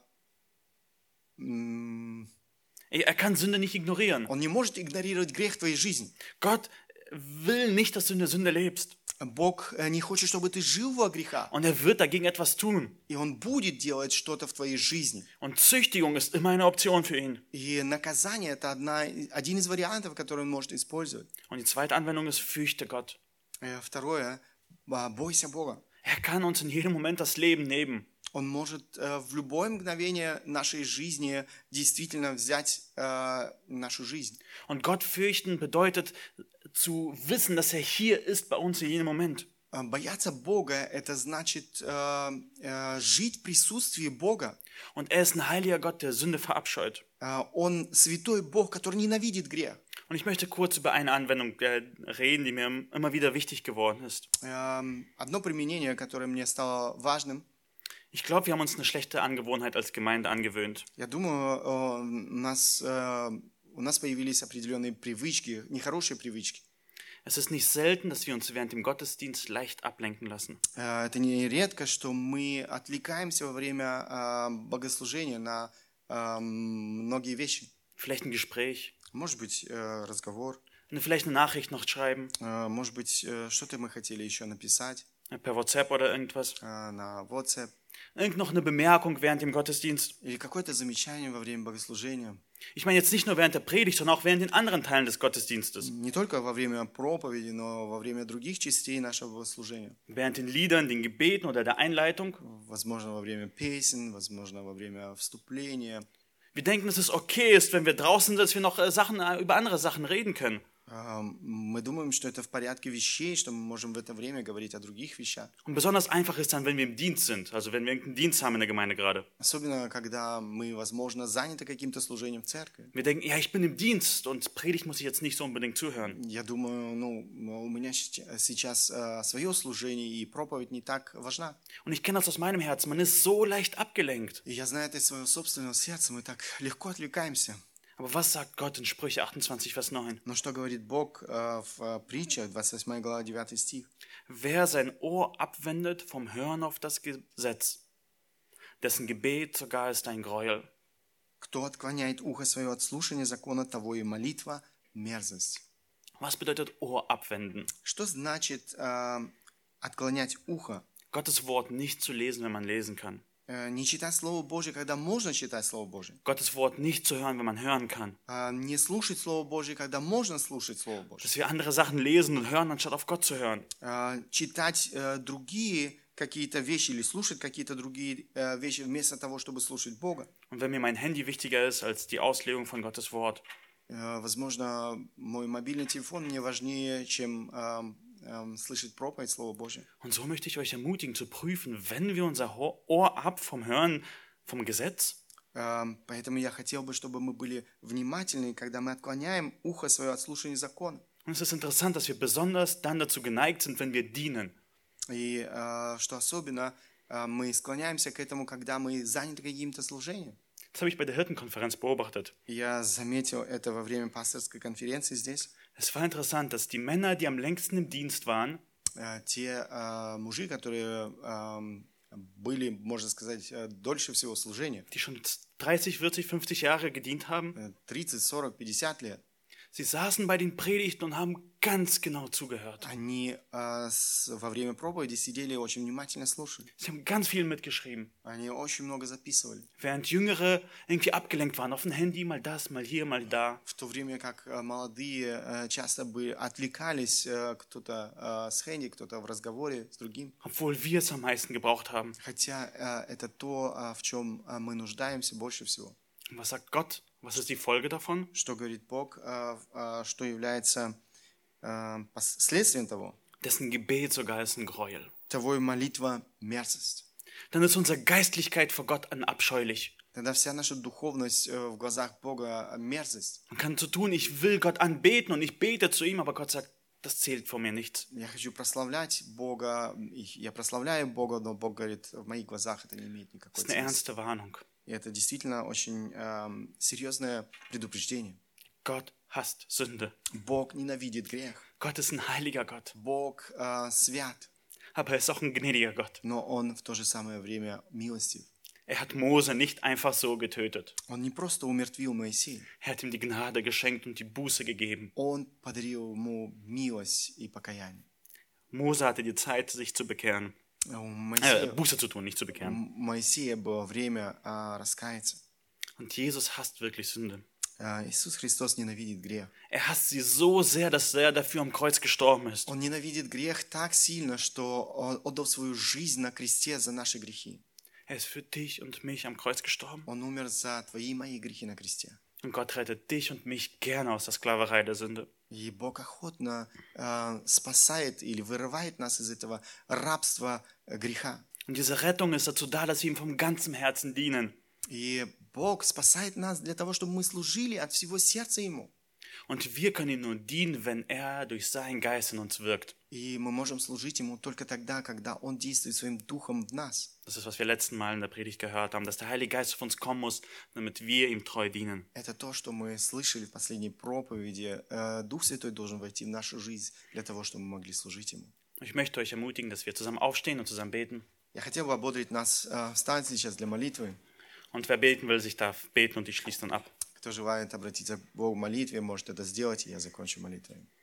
м, Er kann Sünde nicht ignorieren. Он не может игнорировать грех в твоей жизни. Gott will nicht, dass du in der Sünde lebst. Бог э, не хочет, чтобы ты жил во грехах. Und er wird dagegen etwas tun. И Он будет делать что-то в твоей жизни. Und Züchtigung ist immer eine Option für ihn. И наказание – это одна, один из вариантов, который он может использовать. Und die zweite Anwendung ist, fürchte Gott. Э, Второе – бойся Бога. Er kann uns in jedem Moment das Leben nehmen. Он может э, в любое мгновение нашей жизни действительно взять э, нашу жизнь. Und Gott fürchten bedeutet zu wissen, dass er hier ist bei uns in jedem Moment. Э, Бояться Бога – это значит э, э, жить в присутствии Бога. Und er ist ein heiliger Gott, der Sünde verabscheut. Э, Он святой Бог, который ненавидит грех. Und ich möchte kurz über eine Anwendung äh, reden, die mir immer wieder wichtig geworden ist. Э, Одно применение, которое мне стало важным. Ich glaube, wir haben uns eine schlechte Angewohnheit als Gemeinde angewöhnt. Я думаю, э, у нас, э, у нас появились определенные привычки, нехорошие привычки. Es ist nicht selten, dass wir uns während dem Gottesdienst leicht ablenken lassen. Э, Это не редко, что мы отвлекаемся во время э, богослужения на э, многие вещи. Vielleicht ein Gespräch, Может быть, э, разговор, vielleicht eine Nachricht noch schreiben, э, может быть, э, что-то мы хотели еще написать per WhatsApp oder irgendwas. э, на WhatsApp, Irgend noch eine Bemerkung während dem Gottesdienst. или какое-то замечание во время богослужения. Ich meine jetzt nicht nur während der Predigt, sondern auch während den anderen Teilen des Gottesdienstes. Не только во время проповеди, но во время других частей нашего богослужения. Während den Liedern, den Gebeten oder der Einleitung. Возможно, во время песен, возможно, во время вступления. Wir denken, dass es okay ist, wenn wir draußen sind, dass wir noch äh, Sachen, äh, über andere Sachen reden können. А, Мы думаем, что это в порядке вещей, что мы можем в это время говорить о других вещах. Und besonders einfach ist dann, wenn wir im Dienst sind, also wenn wir irgendeinen Dienst haben in der Gemeinde gerade. Особенно, когда мы, возможно, заняты каким-то служением в церкви. Wir denken, ja, ich bin im Dienst und Predigt muss ich jetzt nicht so unbedingt zuhören. Я думаю, ну, у меня щ- сейчас э, свое служение, и проповедь не так важна. Und ich kenne das aus meinem Herzen, man ist so leicht abgelenkt. И я знаю это из своего собственного сердца, мы так легко отвлекаемся. Aber was sagt Gott in Sprüche achtundzwanzig, Vers neun? Но что говорит Бог э, в э, притчах, двадцать восьмая глава, девятый стих? Wer sein Ohr abwendet vom Hören auf das Gesetz, dessen Gebet sogar ist ein Gräuel. Кто отклоняет ухо свое от слушания закона, того и молитва мерзость. Was bedeutet Ohr abwenden? Что значит э, отклонять ухо? Gottes Wort nicht zu lesen, wenn man lesen kann. Э, не читать Слово Божье, когда можно читать Слово Божье. Gottes Wort nicht zu hören, wenn man hören kann. Э, не слушать Слово Божье, когда можно слушать Слово Божье. Dass wir andere Sachen lesen und hören, anstatt auf Gott zu hören. Э, читать э, другие какие-то вещи или слушать какие-то другие э, вещи вместо того, чтобы слушать Бога. Und wenn mir mein Handy wichtiger ist als die Auslegung von Gottes Wort, Э, возможно, мой мобильный телефон мне важнее, чем э, э, слышать проповедь Слова Божьего. und so möchte ich euch ermutigen zu prüfen, wenn wir unser Ho- Ohr ab vom Hören vom Gesetz, Э, поэтому я хотел бы, чтобы мы были внимательны, когда мы отклоняем ухо свое от слушания закона. und es ist interessant, dass wir besonders dann dazu geneigt sind, wenn wir dienen. И э, что особенно, э, мы склоняемся к этому, когда мы заняты каким-то служением. Das habe ich bei der Hirtenkonferenz beobachtet. Я заметил это во время пасторской конференции здесь. Es war interessant, dass die Männer, die am längsten im Dienst waren, Э, те э, мужи, которые э, были, можно сказать, э, дольше всего служения, die schon dreißig, vierzig, fünfzig Jahre gedient haben, э, тридцать, сорок, пятьдесят лет, sie saßen bei den Predigten und haben ganz genau zugehört. они э, с- во время проповеди сидели и очень внимательно слушали. Sie haben ganz viel mitgeschrieben. Они очень много записывали. Während Jüngere irgendwie abgelenkt waren, auf dem Handy, mal das, mal hier, mal da. В то время как э, молодые э, часто бы отвлекались, э, кто-то э, с Хэнди, кто-то в разговоре с другим. Obwohl wir es am meisten gebraucht haben. Хотя э, это то, э, в чем э, мы нуждаемся больше всего. Und was sagt Gott? Was ist die Folge davon? Что говорит Бог, э, э, что является э, пос- следствием того? Dessen Gebet sogar ist ein Gräuel. Того и молитва мерзость. Dann ist unsere Geistlichkeit vor Gott an abscheulich. Тогда вся наша духовность э, в глазах Бога мерзость. Man kann so tun, ich will Gott anbeten und ich bete zu ihm, aber Gott sagt, das zählt vor mir nichts. Я хочу прославлять Бога, и я прославляю Бога, но Бог говорит, в моих глазах это не имеет никакой Das ist eine ценности. ernste Warnung. И это действительно очень эм, серьезное предупреждение. Gott hasst Sünde. Бог ненавидит грех. Gott ist ein heiliger Gott, Бог э, свят, aber er ist auch ein gnädiger Gott. но Он в то же самое время милостив. Er hat Mose nicht einfach so getötet. Он не просто умертвил Моисея, Er hat ihm die Gnade geschenkt und die Buße gegeben. Он подарил ему милость и покаяние. Mose hatte die Zeit, sich zu bekehren. У Äh, Моисея, Buße zu tun, nicht zu у bekehren. Моисея было время э, раскаяться. Und Jesus hasst wirklich Sünde. Э, Иисус Христос ненавидит грех. Er hasst sie so sehr, dass er dafür am Kreuz gestorben ist. Он ненавидит грех так сильно, что Он отдал свою жизнь на кресте за наши грехи. Er ist für dich und mich am Kreuz gestorben. Он умер за твои и мои грехи на кресте. Und Gott rettet dich und mich gerne aus der Sklaverei der Sünde. И Бог охотно э, спасает или вырывает нас из этого рабства э, греха. Und diese Rettung ist dazu da, dass wir ihm vom ganzen Herzen dienen. И Бог спасает нас для того, чтобы мы служили от всего сердца Ему. Und wir können ihm nur dienen, wenn er durch seinen Geist in uns wirkt. И мы можем служить Ему только тогда, когда Он действует Своим Духом в нас. Das ist, was wir letzten Mal in der Predigt gehört haben, dass der Heilige Geist auf uns kommen muss, damit wir ihm treu dienen. Это то, что мы слышали в последней проповеди. Э, Дух Святой должен войти в нашу жизнь для того, чтобы мы могли служить Ему. Ich möchte euch ermutigen, dass wir zusammen aufstehen und zusammen beten. Я хотел бы ободрить нас э, встать сейчас для молитвы. Und wer beten will, sich darf beten und ich schließe dann ab. Кто желает обратиться к Богу в молитве, может это сделать, и я закончу молитвой.